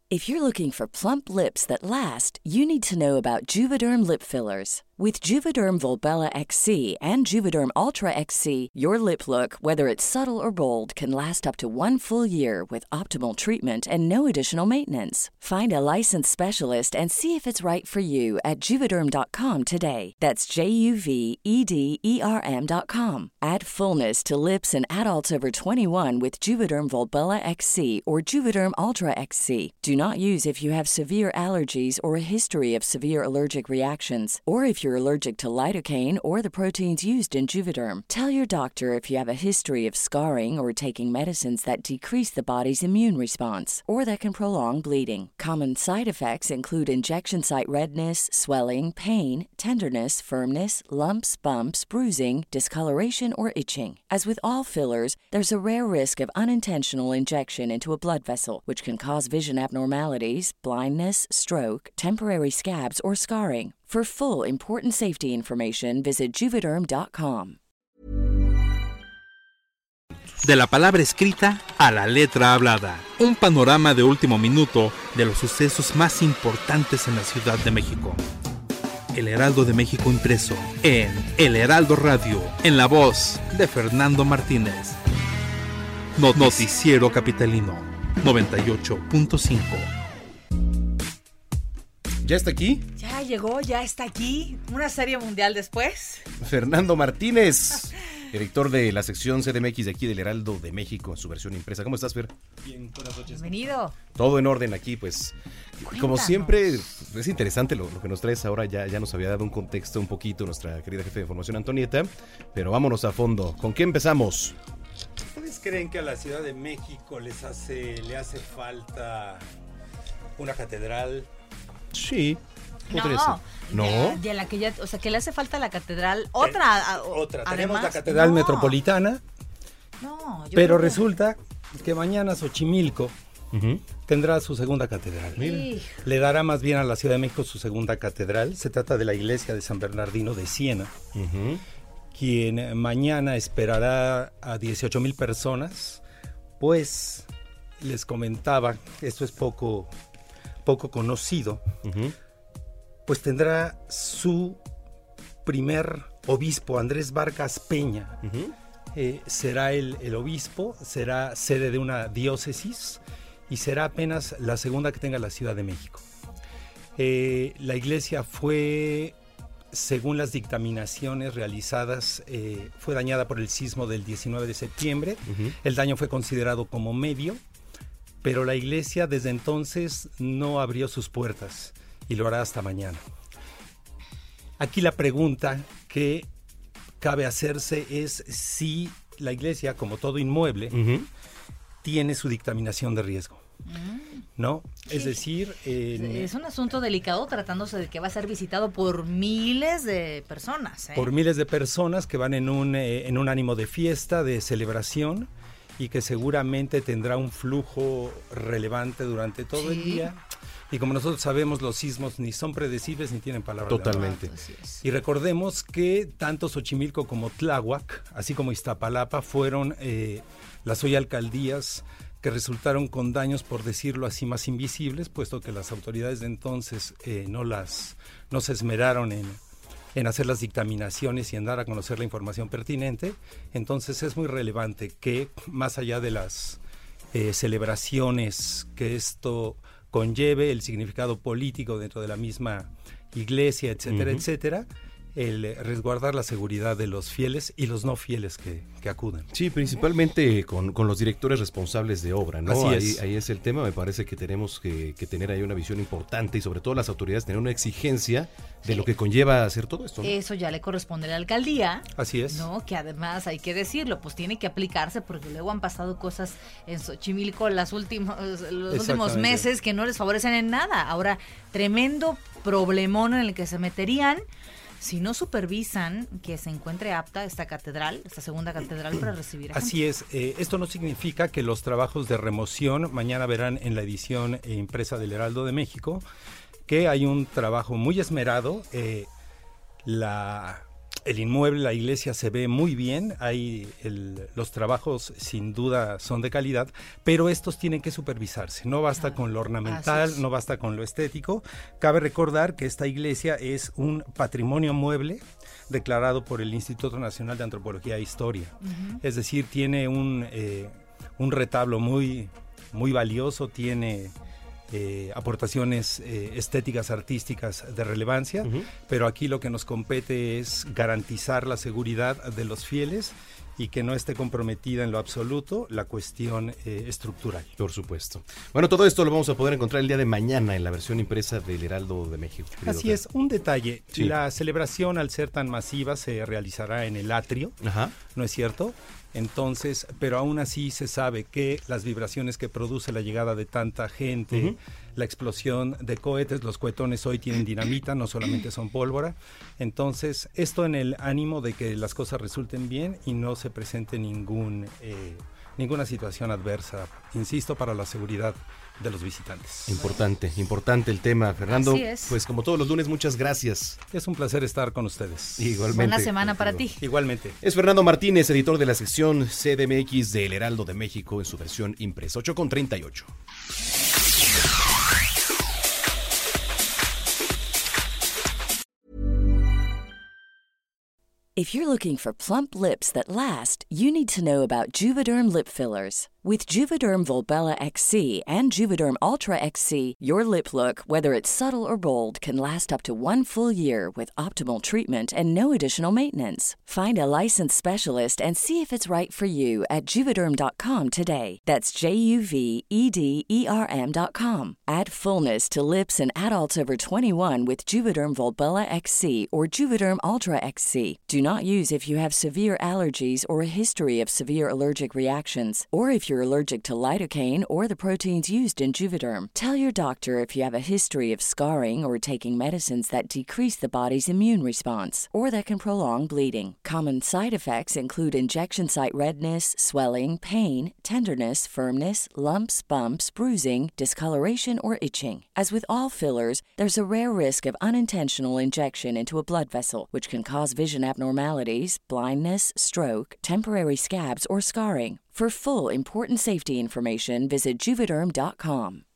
If you're looking for plump lips that last, you need to know about Juvederm lip fillers. With Juvederm Volbella XC and Juvederm Ultra XC, your lip look, whether it's subtle or bold, can last up to 1 full year with optimal treatment and no additional maintenance. Find a licensed specialist and see if it's right for you at Juvederm.com today. That's JUVEDERM.com. Add fullness to lips in adults over 21 with Juvederm Volbella XC or Juvederm Ultra XC. Do not use if you have severe allergies or a history of severe allergic reactions, or if you're allergic to lidocaine or the proteins used in Juvederm. Tell your doctor if you have a history of scarring or taking medicines that decrease the body's immune response or that can prolong bleeding. Common side effects include injection site redness, swelling, pain, tenderness, firmness, lumps, bumps, bruising, discoloration, or itching. As with all fillers, there's a rare risk of unintentional injection into a blood vessel, which can cause vision abnormalities, blindness, stroke, temporary scabs, or scarring. For full, important safety information, visit Juvederm.com. De la palabra escrita a la letra hablada. Un panorama de último minuto de los sucesos más importantes en la Ciudad de México. El Heraldo de México impreso en El Heraldo Radio, en la voz de Fernando Martínez. Noticiero Capitalino 98.5. ¿Ya está aquí? Ya llegó, ya está aquí. Una serie mundial después. Fernando Martínez, director de la sección CDMX de aquí del Heraldo de México en su versión impresa. ¿Cómo estás, Fer? Bien, buenas noches. Bienvenido. Todo en orden aquí, pues. Cuéntanos. Como siempre, es interesante lo que nos traes ahora. Ya nos había dado un contexto un poquito nuestra querida jefe de información, Antonieta. Pero vámonos a fondo. ¿Con qué empezamos? ¿Ustedes creen que a la Ciudad de México le hace falta una catedral? Sí. No. ¿No? De la que ya, o sea, que le hace falta la catedral. Otra. Otra. Además, Tenemos la catedral no. metropolitana, No, yo pero creo que- resulta que mañana Xochimilco Uh-huh. tendrá su segunda catedral. Sí. Le dará más bien a la Ciudad de México su segunda catedral. Se trata de la iglesia de San Bernardino de Siena, Uh-huh. quien mañana esperará a 18,000 personas. Pues les comentaba, esto es poco conocido, Uh-huh. pues tendrá su primer obispo, Andrés Vargas Peña. Uh-huh. Será el obispo, será sede de una diócesis y será apenas la segunda que tenga la Ciudad de México. La iglesia fue, según las dictaminaciones realizadas, fue dañada por el sismo del 19 de septiembre. Uh-huh. El daño fue considerado como medio, pero la iglesia desde entonces no abrió sus puertas y lo hará hasta mañana. Aquí la pregunta que cabe hacerse es si la iglesia, como todo inmueble, Uh-huh. tiene su dictaminación de riesgo, ¿no? Es Sí. decir, Es un asunto delicado tratándose de que va a ser visitado por miles de personas. por miles de personas que van en un ánimo de fiesta, de celebración, y que seguramente tendrá un flujo relevante durante todo el Sí. día. Y como nosotros sabemos, los sismos ni son predecibles ni tienen palabra. de honor. Totalmente. Así es. Y recordemos que tanto Xochimilco como Tláhuac, así como Iztapalapa, fueron las hoy alcaldías que resultaron con daños, por decirlo así, más invisibles, puesto que las autoridades de entonces no se esmeraron en hacer las dictaminaciones y en dar a conocer la información pertinente. Entonces es muy relevante que, más allá de las celebraciones que esto conlleve, el significado político dentro de la misma iglesia, etcétera, Uh-huh. etcétera, el resguardar la seguridad de los fieles y los no fieles que acuden. Sí, principalmente con los directores responsables de obra, ¿no? Así es. Ahí es el tema. Me parece que tenemos que tener ahí una visión importante y sobre todo las autoridades tener una exigencia de Sí. lo que conlleva hacer todo esto, ¿no? Eso ya le corresponde a la alcaldía. Así es. No, que además hay que decirlo, pues tiene que aplicarse porque luego han pasado cosas en Xochimilco los últimos Exactamente. meses que no les favorecen en nada. Ahora, tremendo problemón en el que se meterían si no supervisan que se encuentre apta esta catedral, esta segunda catedral para recibir a gente. Así es, esto no significa que los trabajos de remoción, mañana verán en la edición impresa del Heraldo de México, que hay un trabajo muy esmerado. El El inmueble, la iglesia se ve muy bien, los trabajos sin duda son de calidad, pero estos tienen que supervisarse. No basta con lo ornamental, no basta con lo estético. Cabe recordar que esta iglesia es un patrimonio mueble declarado por el Instituto Nacional de Antropología e Historia. Es decir, tiene un retablo muy, muy valioso, tiene aportaciones estéticas, artísticas de relevancia, pero aquí lo que nos compete es garantizar la seguridad de los fieles y que no esté comprometida en lo absoluto la cuestión estructural. Por supuesto. Bueno, todo esto lo vamos a poder encontrar el día de mañana en la versión impresa del Heraldo de México. Así es, un detalle. Sí. La celebración, al ser tan masiva, se realizará en el atrio, ¿no es cierto? Entonces, pero aún así se sabe que las vibraciones que produce la llegada de tanta gente, la explosión de cohetes, los cohetones hoy tienen dinamita, no solamente son pólvora. Entonces, esto en el ánimo de que las cosas resulten bien y no se presente ninguna situación adversa, insisto, para la seguridad de los visitantes. Importante el tema, Fernando. Así es. Pues como todos los lunes, muchas gracias. Es un placer estar con ustedes. Igualmente. Buena semana para ti. Igualmente. Es Fernando Martínez, editor de la sección CDMX del Heraldo de México en su versión impresa. 8:38. If you're looking for plump lips that last, you need to know about Juvederm lip fillers. With Juvederm Volbella XC and Juvederm Ultra XC, your lip look, whether it's subtle or bold, can last up to 1 full year with optimal treatment and no additional maintenance. Find a licensed specialist and see if it's right for you at Juvederm.com today. That's JUVEDERM.com. Add fullness to lips in adults over 21 with Juvederm Volbella XC or Juvederm Ultra XC. Do not use if you have severe allergies or a history of severe allergic reactions, or if you're allergic to lidocaine or the proteins used in Juvederm. Tell your doctor if you have a history of scarring or taking medicines that decrease the body's immune response or that can prolong bleeding. Common side effects include injection site redness, swelling, pain, tenderness, firmness, lumps, bumps, bruising, discoloration, or itching. As with all fillers, there's a rare risk of unintentional injection into a blood vessel, which can cause vision abnormalities, blindness, stroke, temporary scabs, or scarring. For full, important safety information, visit Juvederm.com.